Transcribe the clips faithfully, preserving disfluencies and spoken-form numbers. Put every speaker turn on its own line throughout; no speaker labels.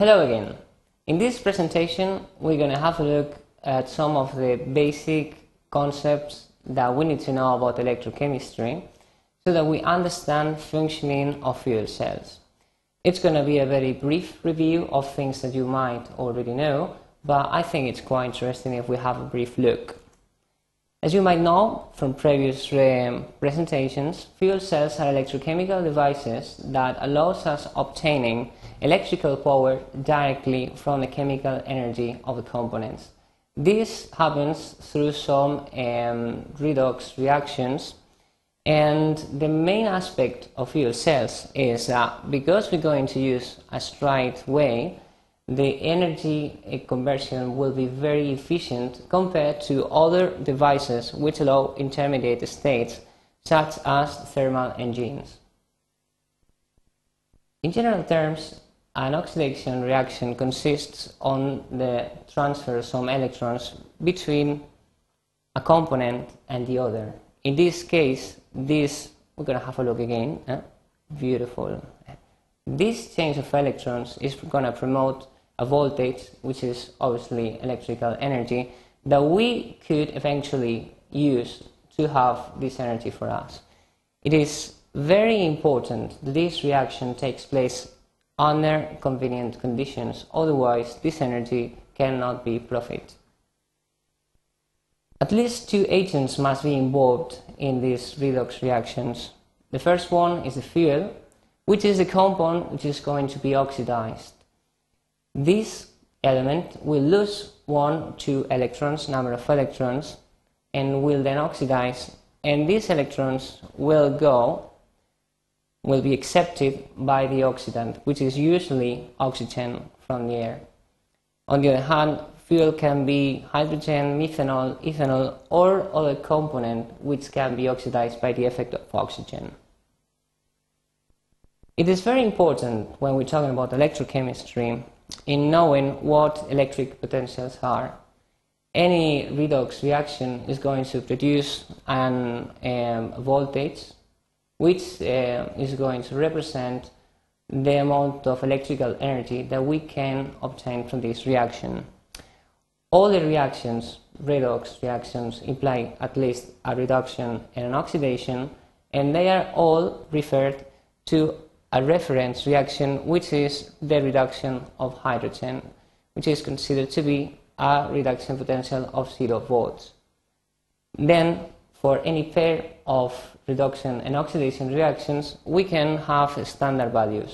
Hello again. In this presentation we're going to have a look at some of the basic concepts that we need to know about electrochemistry so that we understand functioning of fuel cells. It's going to be a very brief review of things that you might already know, but I think it's quite interesting if we have a brief look. As you might know from previous um, presentations, fuel cells are electrochemical devices that allows us obtaining electrical power directly from the chemical energy of the components. This happens through some um, redox reactions, and the main aspect of fuel cells is that because we're going to use a straight way, the energy conversion will be very efficient compared to other devices which allow intermediate states such as thermal engines. In general terms, an oxidation reaction consists on the transfer of some electrons between a component and the other. In this case, this, we're going to have a look again, eh? Beautiful. This change of electrons is going to promote a voltage, which is obviously electrical energy, that we could eventually use to have this energy for us. It is very important that this reaction takes place under convenient conditions, otherwise this energy cannot be profited. At least two agents must be involved in these redox reactions. The first one is the fuel, which is the compound which is going to be oxidized. This element will lose one, two electrons, number of electrons, and will then oxidize, and these electrons will go, will be accepted by the oxidant, which is usually oxygen from the air. On the other hand, fuel can be hydrogen, methanol, ethanol, or other component which can be oxidized by the effect of oxygen. It is very important when we're talking about electrochemistry in knowing what electric potentials are. Any redox reaction is going to produce an um, voltage which uh, is going to represent the amount of electrical energy that we can obtain from this reaction. All the reactions, redox reactions, imply at least a reduction and an oxidation, and they are all referred to a reference reaction, which is the reduction of hydrogen, which is considered to be a reduction potential of zero volts. Then, for any pair of reduction and oxidation reactions, we can have standard values.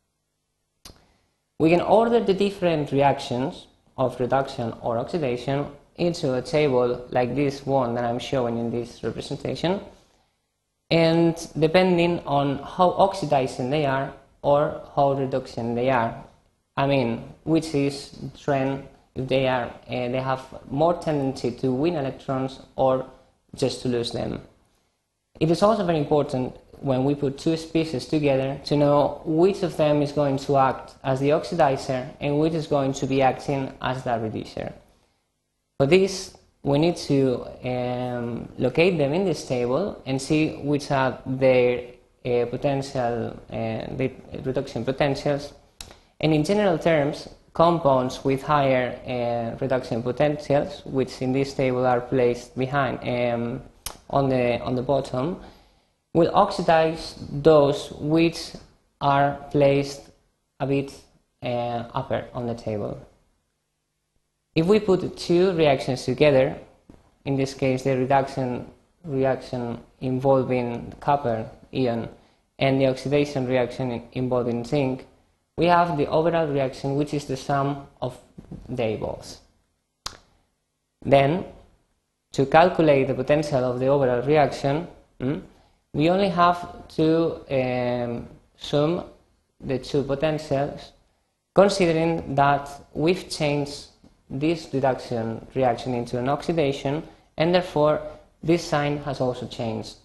We can order the different reactions of reduction or oxidation into a table like this one that I'm showing in this representation, and depending on how oxidizing they are or how reduction they are, I mean, which is the trend, if they are, uh, they have more tendency to win electrons or just to lose them. It is also very important when we put two species together to know which of them is going to act as the oxidizer and which is going to be acting as the reducer. For this, we need to um, locate them in this table and see which are their uh, potential, uh, the reduction potentials. And in general terms, compounds with higher uh, reduction potentials, which in this table are placed behind um, on the on the bottom, will oxidize those which are placed a bit uh, upper on the table. If we put two reactions together, in this case the reduction reaction involving copper ion and the oxidation reaction involving zinc, we have the overall reaction, which is the sum of their balls. Then, to calculate the potential of the overall reaction, mm, we only have to um, sum the two potentials, considering that we've changed this reduction reaction into an oxidation, and therefore this sign has also changed.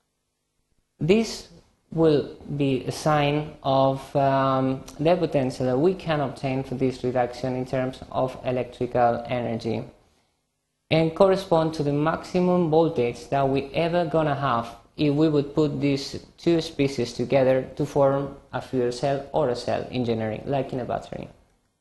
This will be a sign of um, the potential that we can obtain for this reduction in terms of electrical energy, and correspond to the maximum voltage that we ever gonna have if we would put these two species together to form a fuel cell or a cell engineering, like in a battery.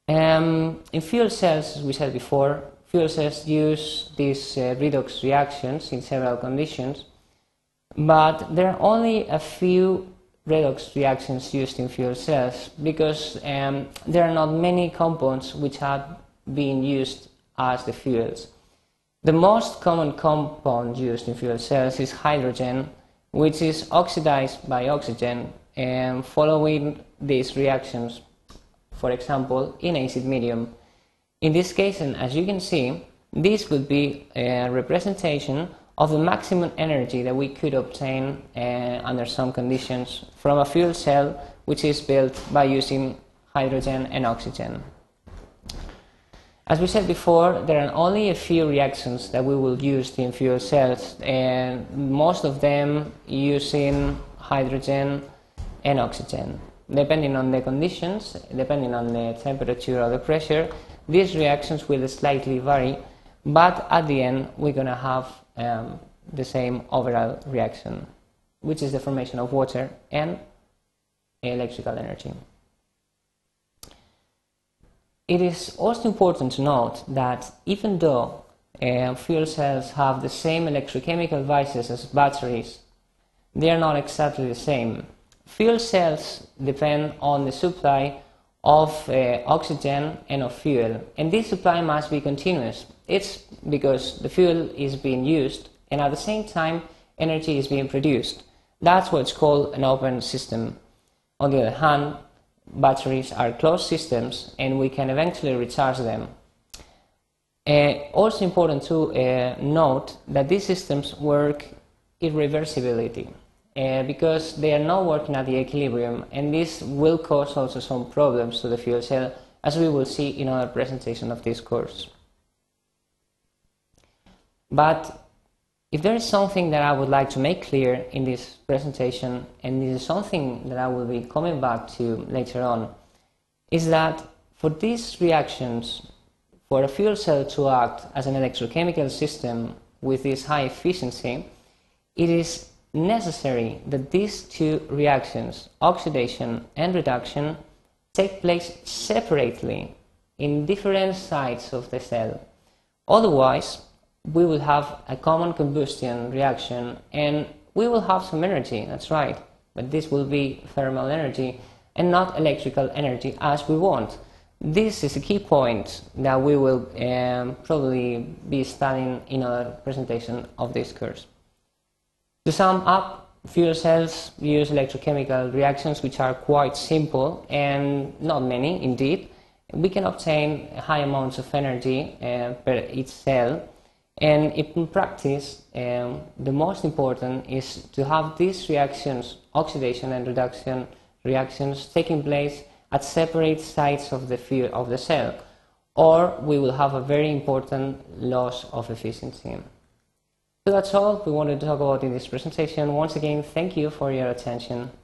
Um, in fuel cells, as we said before, fuel cells use these uh, redox reactions in several conditions, but there are only a few redox reactions used in fuel cells because um, there are not many compounds which have been used as the fuels. The most common compound used in fuel cells is hydrogen, which is oxidized by oxygen and following these reactions, for example, in acid medium. In this case, and as you can see, this would be a representation of the maximum energy that we could obtain uh, under some conditions from a fuel cell which is built by using hydrogen and oxygen. As we said before, there are only a few reactions that we will use in fuel cells, and most of them using hydrogen and oxygen. Depending on the conditions, depending on the temperature or the pressure, these reactions will slightly vary, but at the end we're going to have um, the same overall reaction, which is the formation of water and electrical energy. It is also important to note that even though uh, fuel cells have the same electrochemical vices as batteries, they are not exactly the same. Fuel cells depend on the supply of uh, oxygen and of fuel, and this supply must be continuous. It's because the fuel is being used and at the same time energy is being produced. That's what's called an open system. On the other hand, batteries are closed systems and we can eventually recharge them. Uh, also important to uh, note that these systems work irreversibility. Uh, because they are not working at the equilibrium, and this will cause also some problems to the fuel cell, as we will see in other presentation of this course. But if there is something that I would like to make clear in this presentation, and this is something that I will be coming back to later on, is that for these reactions, for a fuel cell to act as an electrochemical system with this high efficiency, it is necessary that these two reactions, oxidation and reduction, take place separately in different sites of the cell. Otherwise, we will have a common combustion reaction and we will have some energy, that's right, but this will be thermal energy and not electrical energy as we want. This is a key point that we will um, probably be studying in a presentation of this course. To sum up, fuel cells use electrochemical reactions which are quite simple and not many indeed. We can obtain high amounts of energy uh, per each cell, and in practice um, the most important is to have these reactions, oxidation and reduction reactions, taking place at separate sites of the fuel of the cell, or we will have a very important loss of efficiency. So that's all we wanted to talk about in this presentation. Once again, thank you for your attention.